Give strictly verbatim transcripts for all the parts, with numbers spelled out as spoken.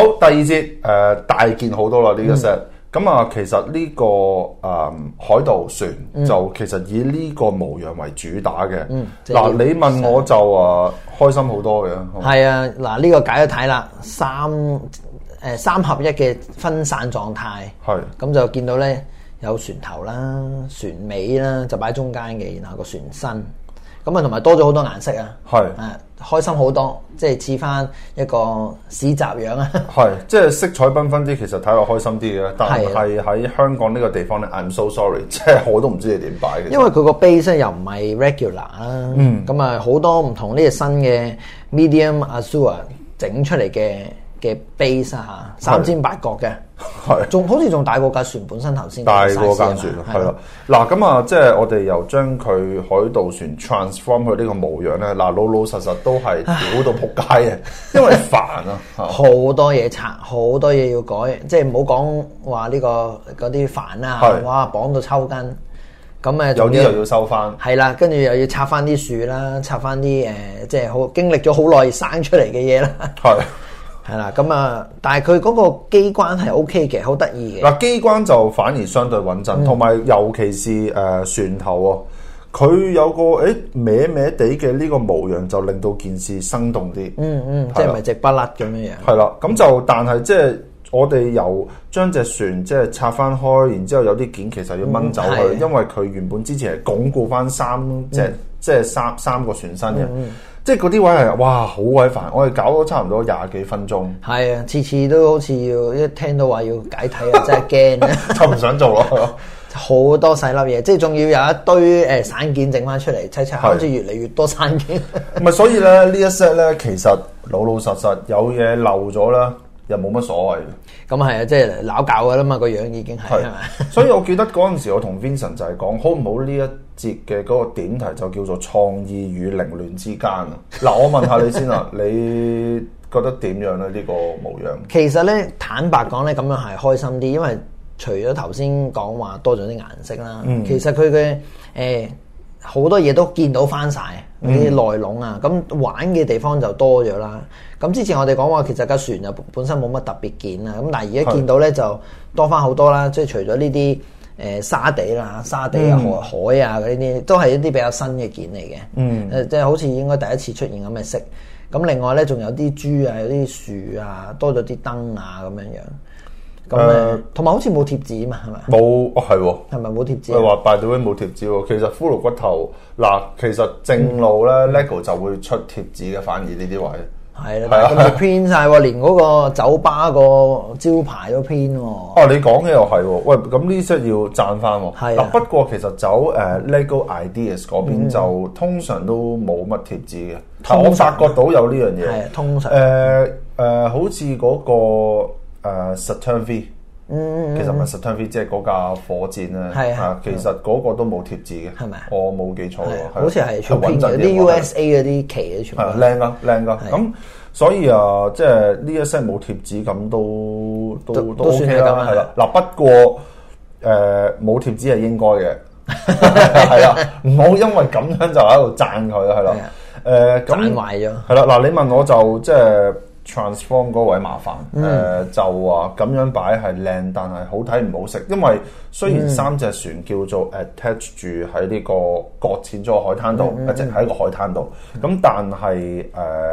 好，第二節誒、呃、大件好多啦呢個 set。咁啊，其實呢、這個誒、嗯、海盜船、嗯、就其實以呢個模樣為主打嘅。嗱、嗯，你問我就啊開心好多嘅。 係啊，嗱呢、這個解咗睇啦，三誒、呃、三合一嘅分散狀態。係。咁就見到咧有船頭啦、船尾啦，就擺中間嘅，然後個船身。咁啊，同埋多咗好多顏色啊。係。誒。開心好多，即係似翻一個市集樣啊！ 係，即係色彩繽紛啲，其實睇落開心啲嘅。但係喺香港呢個地方咧 ，I'm so sorry， 即係我都唔知你點擺嘅。 因為佢個 base 又唔係 regular 啦，嗯，咁啊好多唔同呢個新嘅 medium azure 整出嚟嘅嘅 base 啊，三尖八角嘅。係，仲好似仲大過架船本身頭先大過架船，係咯。嗱咁啊，即係我哋又將佢海盜船 transform 佢呢個模樣咧，嗱老老實實都係屌到仆街嘅，因為煩啊， 好多嘢拆，好多嘢要改，即係唔好講話呢個嗰啲帆啊，哇綁到抽筋，咁誒有啲又要收翻， 係啦，跟住又要拆翻啲樹啦，拆翻啲誒，即係好經歷咗好耐生出嚟嘅嘢啦，係。係啦，咁啊，但係佢嗰個機關係 O K 嘅，好得意嘅。 嗱，機關就反而相對穩陣，同、嗯、埋尤其是誒、呃、船頭啊，佢有個誒歪歪地嘅呢個模樣，就令到件事生動啲。嗯嗯， 即係咪直不甩咁樣樣？ 係啦，咁就但係即係我哋由將隻船即係拆翻開，然之後有啲件其實要掹走佢、嗯，因為佢原本之前係鞏固翻三隻、嗯、即係三三個船身嘅。嗯嗯即係嗰啲位係哇好鬼煩，我哋搞咗差唔多廿幾分鐘。係啊，次次都好似要一聽到話要解體啊，真係驚啊， 就唔想做咯。 好多細粒嘢，即係仲要有一堆誒散件整翻出嚟，砌砌好似越嚟越多散件。 唔係，所以咧呢一 set 咧，其實老老實實有嘢漏咗啦，又冇乜所謂。 咁係啊，即係撈教噶啦嘛，個樣已經係係咪？ 所以我記得嗰陣時我同 Vincent 就係講，好唔好呢一節嘅嗰個點題就叫做創意與凌亂之間啊！嗱，我問下你先啊，你覺得點樣咧？呢、這個模樣其實咧，坦白講咧，咁樣係開心啲，因為除咗頭先講話多咗啲顏色啦、嗯，其實佢嘅誒好多嘢都見到翻晒啲內籠啊，咁、嗯、玩嘅地方就多咗啦。咁之前我哋講話，其實架船就本身冇乜特別件啊，咁但係而家見到咧就多翻好多啦，即係除咗呢啲。誒沙地啦，沙地啊、河海啊嗰啲都係一啲比較新嘅件嚟嘅。嗯，誒即係好似應該第一次出現咁嘅色。咁另外咧，仲有啲豬啊，有啲樹啊，多咗啲燈啊咁樣樣。咁誒，同埋好似冇貼紙嘛，係咪？ 冇哦，係喎。 係咪冇貼紙？ 佢話 by the way 冇貼紙喎。其實骷髏骨頭嗱，其實正路咧、嗯、LEGO 就會出貼紙嘅，反而呢啲位。 係啦，咁就編晒喎，連嗰個酒吧個招牌都編喎。哦、 啊，你講嘅又係喎，喂，咁呢 set 要讚翻喎。係啊，不過其實走誒、uh, LEGO Ideas 嗰邊就、嗯、通常都冇乜貼紙嘅。但我發覺到有呢樣嘢。係通常。誒誒、呃呃，好似嗰、那個誒、呃、Saturn V。嗯，其實唔係 Saturn V，即係嗰架火箭咧。係啊，其實嗰個都冇貼紙嘅。係咪？我冇記錯喎。 好似係全編嘅，啲 U S A 嗰啲旗全部。係靚噶，靚噶。咁所以啊，即係呢一 set 冇貼紙咁都都都，都 OK 啦。係啦，嗱不過誒冇貼紙係應該嘅，係啦，唔好因為咁樣就喺度讚佢係啦。誒咁讚壞咗。 係啦，嗱你問我就即係。transform 嗰位麻煩，誒、嗯呃、就話咁樣擺係靚，但係好睇唔好食。因為雖然三隻船叫做 attach 住喺呢個擱淺咗個海灘度，一直喺個海灘度，咁、嗯、但係誒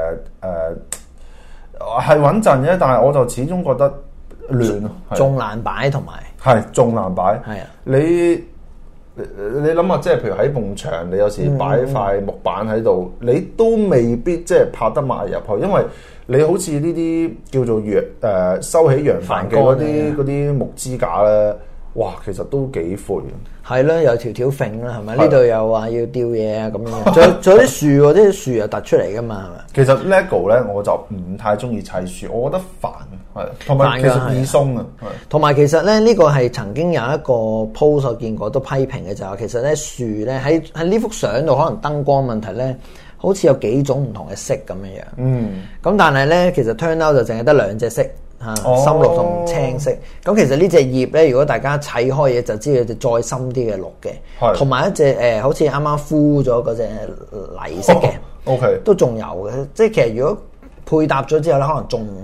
誒係穩陣嘅，但係我就始終覺得亂， 仲難擺同埋係仲難擺。係啊，你你諗下，即係譬如喺埲牆，你有時擺塊木板喺度、嗯，你都未必即係拍得埋入去，因為你好似呢啲叫做洋誒、呃、收起洋帆嘅嗰啲嗰啲木支架咧，哇，其實都幾闊。 係啦，有條條揈啦，係咪？呢度又話要吊嘢啊咁樣，仲有仲有啲樹喎，啲樹又突出嚟噶嘛，係咪？ 其實 LEGO 咧，我就唔太中意砌樹，我覺得煩，係同埋其實易鬆啊，係。同埋其實咧，呢、這個係曾經有一個 post 我見過都批評嘅就係、是，其實咧樹咧喺喺呢幅相度，可能燈光問題咧。好似有幾種唔同嘅色咁樣樣，嗯，咁但係咧，其實 turn out 就淨係得兩隻色嚇，深綠同青色。咁其實呢隻葉咧，如果大家砌開嘢，就知道隻再深啲嘅綠嘅，同埋一隻誒、呃，好似啱啱敷咗嗰隻泥色嘅、哦、，OK，都仲有嘅。即係其實如果配搭咗之後咧，可能仲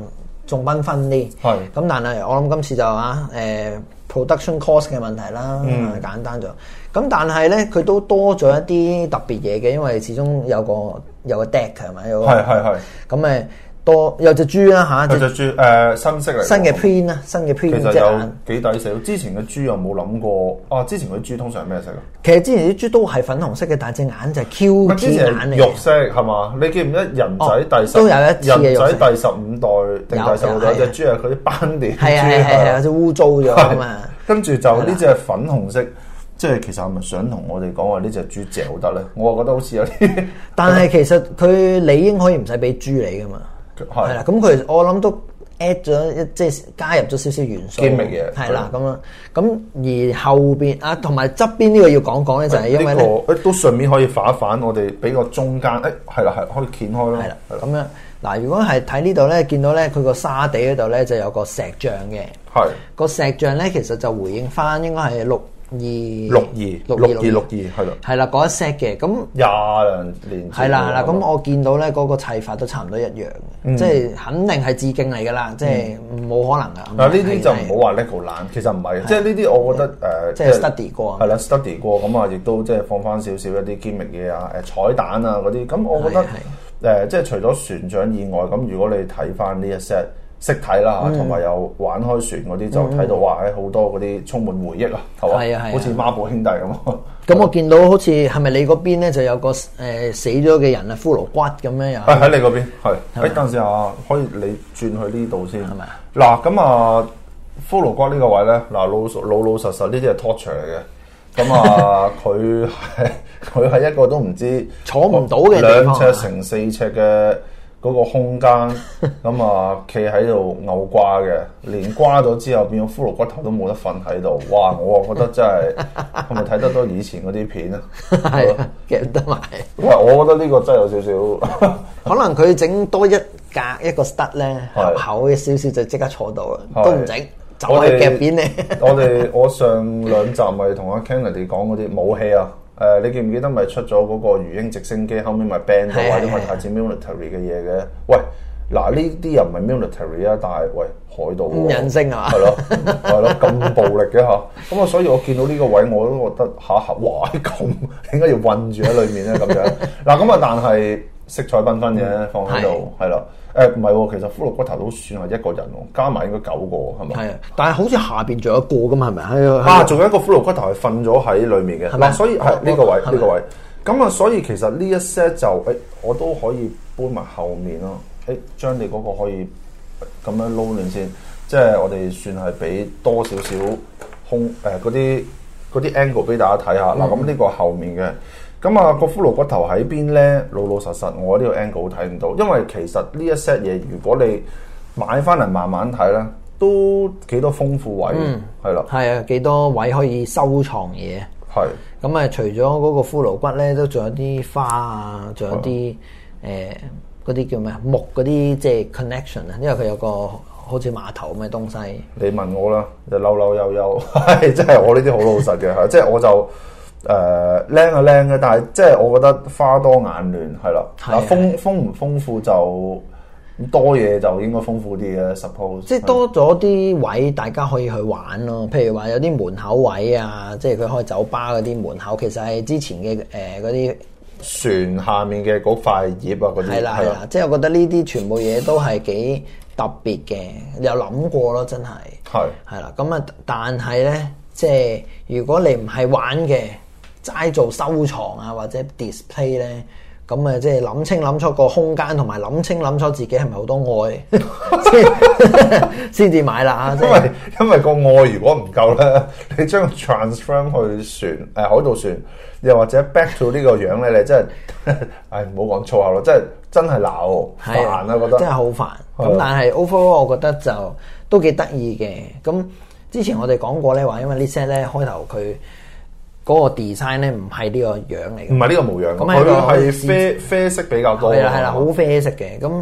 仲繽紛啲。係咁，但係我諗今次就啊誒、呃、production cost 嘅問題啦，嗯、簡單咗。咁但係咧，佢都多咗一啲特別嘢嘅，因為始終有個有個 deck 係咪？係係係。咁誒。多有隻豬啦嚇， 有隻豬誒新色嚟， 新嘅 print 啦，新嘅 print 其實有幾抵死。之前嘅豬有冇諗過啊？之前嗰啲豬通常係咩色啊？ 其實之前啲豬都係粉紅色嘅，但係隻眼就係 Q T 眼嚟。 肉色係嘛？你記唔記得人仔第十都有一次嘅人仔第十五代定第十六代隻豬係佢啲斑點？ 係係係係有隻污糟咗啊嘛。 跟住就呢隻粉紅色。即係其實係咪想同我哋講話呢隻豬嚼得咧？我覺得好似有啲， 但係其實佢理應可以唔使俾豬你噶嘛，係啦。咁佢我諗都 add 咗一即係加入咗少少元素， 堅味嘢係啦咁樣。咁而後邊啊，同埋側邊呢個要講講咧，就係因為咧， 誒都順便可以反一反，我哋俾個中間，誒係啦係可以掀開咯， 係啦咁樣。嗱，如果係睇呢度咧，見到咧佢個沙地嗰度咧就有個石像嘅，係個石像咧其實就回應翻應該係六。二六二六二六二係咯， 係啦嗰一 set 嘅咁廿零年係啦係啦，咁我見到咧嗰個砌法都差唔多一樣嘅，即係肯定係致敬嚟㗎啦，即係冇可能㗎。 嗱呢啲就唔好話 lego 爛，其實唔係，即係呢啲我覺得誒， 即係 study 過係啦 study 過咁啊，亦都即係放翻少少一啲 gimmick嘢啊，誒彩蛋啊嗰啲，咁我覺得誒即係除咗船長以外，咁如果你睇翻呢一 set。識睇啦嚇，同埋有玩開船嗰啲就睇到話喺好多嗰啲充滿回憶啊，係嘛？係啊係啊，好似孖寶兄弟咁。 咁我見到好似係咪你嗰邊咧就有個誒死咗嘅人啊，骷髏骨咁樣又？ 喺你嗰邊係。誒等陣先啊，可以你轉去呢度先。係咪啊？嗱咁啊，骷髏骨呢個位咧，嗱老老老實實呢啲係 torture 嚟嘅。咁啊，佢係佢係一個都唔知坐唔到嘅兩尺乘四尺嘅。嗰個空間咁啊，企喺度牛瓜嘅，連瓜咗之後變咗骷髏骨頭都冇得瞓喺度，哇！我啊覺得真係係咪睇得多以前嗰啲片啊？ 係啊，夾得埋。 喂，我覺得呢個真係有少少， 可能佢整多一格一個 stud 咧，厚嘅少少就即刻坐到啦，都唔整，就係夾扁你。 我哋我上兩集咪同阿 Kennedy 講嗰啲武器啊。誒、呃，你記唔記得咪出咗嗰個魚鷹直升機，後面咪 ban 到或者咪太似 military 嘅嘢嘅？喂，嗱呢啲又唔係 military 啊，但係喂海盜喎， 人性啊， 係咯係咯，咁暴力嘅嚇，咁啊，所以我見到呢個位我都覺得下下，哇咁點解要韞住喺裏面咧咁樣？嗱咁啊，但係色彩繽紛嘅放喺度係啦。誒唔係喎，其實骷髏骨頭都算係一個人喎，加埋應該九個係咪？係啊， 但係好似下邊仲有一個㗎嘛，係咪？係啊，仲有一個骷髏骨頭係瞓咗喺裡面嘅，嗱，所以係呢個位呢個位。咁啊，所以其實呢一 set 就誒，我都可以搬埋後面咯。誒，將你嗰個可以咁樣撈亂先，即係我哋算係俾多少少空誒嗰啲嗰啲 angle 俾大家睇下。嗱，咁呢個後面嘅。咁啊，個骷髏骨頭喺邊咧？老老實實，我呢個 angle 睇唔到，因為其實呢一 set 嘢，如果你買翻嚟慢慢睇咧，都幾多豐富位，係啦、嗯，係啊， 幾多位可以收藏嘢。係咁啊，除咗嗰個骷髏骨咧，都仲有啲花啊，仲有啲誒嗰啲叫咩啊木嗰啲即係 connection 啊，因為佢有個好似碼頭咁嘅東西。 你問我啦，就嬲嬲悠悠，係即係我呢啲好老實嘅嚇，即係我就。誒靚啊靚嘅，但係即係我覺得花多眼亂係啦。嗱豐豐唔豐富就多嘢就應該豐富啲嘅 suppose。即係多咗啲位大家可以去玩咯。譬如話有啲門口位啊，即係佢開酒吧嗰啲門口，其實係之前嘅誒嗰啲船下面嘅嗰塊葉啊嗰啲。係啦係啦，即係我覺得呢啲全部嘢都係幾特別嘅，有諗過咯，真係。係係啦，咁啊，但係咧，即係如果你唔係玩嘅。齋做收藏啊，或者 display 咧，咁啊，即係諗清諗楚個空間，同埋諗清諗楚自己係咪好多愛，先先至買啦。因為因為個愛如果唔夠咧，你將 transform 去船誒、呃、海盜船，又或者 back to 呢個樣咧，你真係誒唔好講粗口咯，真係真係鬧煩啊，覺得真係好煩。咁但係 overall 我覺得就都幾得意嘅。咁之前我哋講過咧，話因為呢 set 咧開頭佢。嗰個 design 咧唔係呢個樣嚟嘅，唔係呢個模樣，咁佢係啡啡色比較多，係啦係啦，好啡色嘅。咁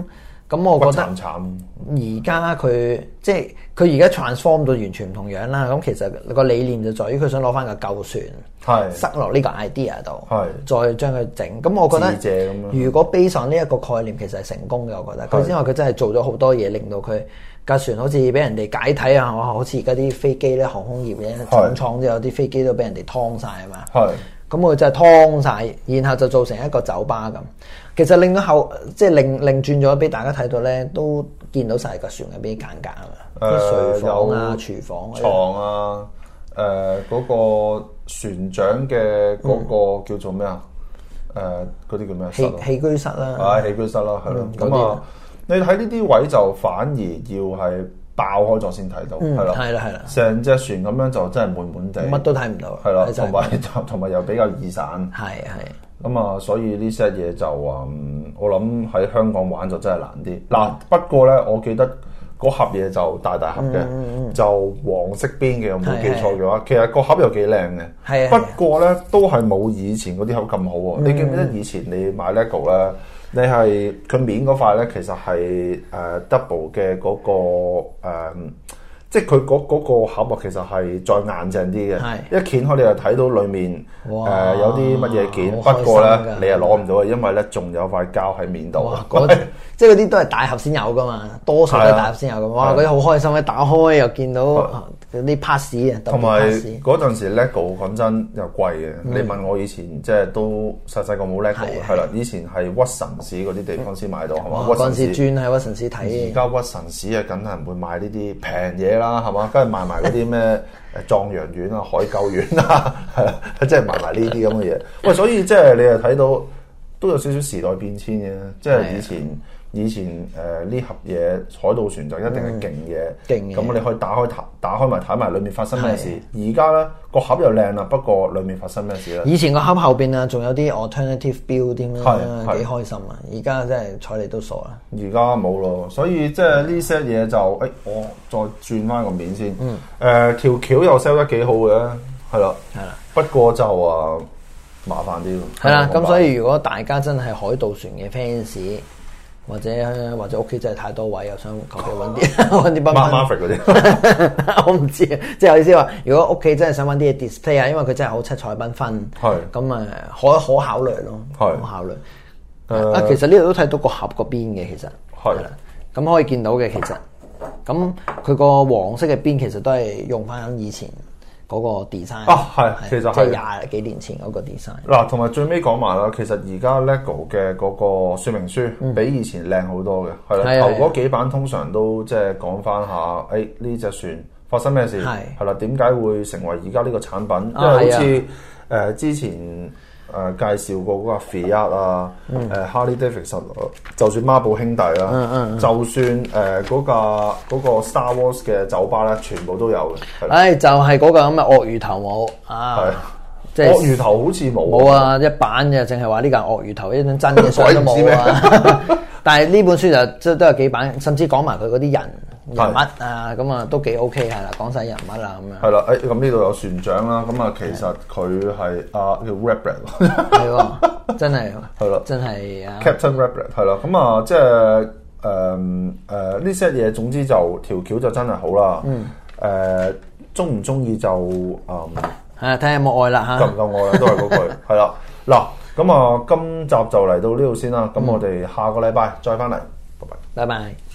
咁我覺得慘慘而家佢即係佢而家 transform 到完全唔同樣啦。咁其實個理念就在於佢想攞翻個舊船，係塞落呢個 idea 度，係再將佢整。咁我覺得如果 base on 呢一個概念，其實係成功嘅。我覺得佢因為佢真係做咗好多嘢，令到佢架船好似俾人哋解體啊！好似而家啲飛機咧，航空業咧重創之後，啲飛機都俾人哋劏晒啊嘛。係咁，佢真係劏晒，然後就做成一個酒吧咁。其實令到後即係另另轉咗俾大家睇到咧，都見到晒個船入邊啲間隔啊嘛，啲睡房啊、廚房、 床啊，誒嗰個船長嘅嗰個叫做咩啊？誒嗰啲叫咩？ 起起居室啦， 係起居室啦，係咯。咁啊，你睇呢啲位就反而要係爆開咗先睇到，係咯， 係啦係啦， 成隻船咁樣就真係悶悶地， 乜都睇唔到， 係啦，同埋同埋又比較易散， 係係。 咁啊，所以呢些嘢就啊，我諗喺香港玩就真係難啲。嗱，不過咧，我記得嗰盒嘢就大大盒嘅，嗯、就黃色邊嘅，我冇記錯嘅話，其實個盒又幾靚嘅。係不過咧，都係冇以前嗰啲盒咁好喎。嗯、你記唔記得以前你買 LEGO 咧，你係佢面嗰塊咧，其實係誒、呃、double 嘅嗰、嗰個、呃即係佢嗰嗰個盒啊，其實係再硬淨啲嘅。一掀開你就睇到裡面誒、呃、有啲乜嘢件，不過咧你又攞唔到嘅，因為咧仲有塊膠喺面度。 即係嗰啲都係大盒先有噶嘛，多數都係大盒先有噶。哇！嗰啲好開心，一打開又見到嗰啲 pass 啊， 同埋嗰陣時 LEGO 講真又貴嘅。嗯、你問我以前即係都細細個冇 LEGO 係啦，以前係屈臣氏嗰啲地方先買到係嘛？ 嗰陣時轉喺屈臣氏睇。 而家屈臣氏啊，梗係唔會買呢啲平嘢啦，係嘛？跟住賣埋嗰啲咩誒壯陽丸啊、海鳩丸啊，係啊，即係賣埋呢啲咁嘅嘢。喂，所以即係你又睇到都有少少時代變遷嘅，即係以前。以前誒呢、呃、盒嘢海盜船就一定係勁嘢，勁嘅、嗯。咁你可以打開打打開埋睇埋裏面發生咩事。而家咧個盒又靚啦，不過裏面發生咩事咧？ 以前個盒後邊啊，仲有啲 alternative build 添啦，幾開心啊！而家真係睬你都傻啦。 而家冇咯，所以即係呢些嘢就誒、哎，我再轉翻個面先。嗯。誒、呃、條橋又 sell 得幾好嘅，係啦。係啦。不過就啊麻煩啲咯。 係啦，咁所以如果大家真係海盜船嘅 fans。或者或者屋企真係太多位，又想求其揾啲揾啲賓賓嗰啲， 我唔知啊。即係我意思話，如果屋企真係想揾啲嘢 display 啊，因為佢真係好七彩繽紛，係咁啊，可可考慮咯，可考慮。誒啊，其實呢度都睇到個盒嗰邊嘅，其實係啦，咁可以見到嘅其實，咁佢個黃色嘅邊其實都係用翻以前嗰個 design 啊，係，其實係即係廿幾年前嗰個 design。 嗱，同埋最尾講埋啦，其實而家 LEGO 嘅嗰個說明書比以前靚好多嘅，係啦、嗯。頭嗰幾版通常都即係講翻下，誒呢隻船發生咩事，係啦，點解會成為而家呢個產品？因為好似誒、呃、之前。誒、呃、介紹過嗰個 Fiat 啊，誒、嗯呃、Harley Davidson，就算孖寶兄弟啦，嗯嗯、就算誒嗰、呃那個嗰、那個 Star Wars 嘅酒吧咧，全部都有嘅。誒、 哎、就係、是、嗰個咁嘅鱷魚頭冇啊， 即係鱷魚頭好似冇冇啊，一版嘅淨係話呢個鱷魚頭，一張真嘅相都冇啊。但係呢本書就即係都有幾版，甚至講埋佢嗰啲人。人物啊，咁啊都幾 OK 係啦，講晒人物啦咁樣。 係啦，誒咁呢度有船長啦，咁啊其實佢係啊叫 Ratbread， 係喎，真係係啦， 真係啊 Captain Ratbread 係啦，咁啊即係誒誒呢些嘢，總之就條橋就真係好啦。嗯。誒中唔中意就誒係啊，睇下有冇愛啦嚇。 夠唔夠愛啦，都係嗰句係啦。嗱，咁啊今集就嚟到呢度先啦，咁我哋下個禮拜再翻嚟，拜拜。 拜拜。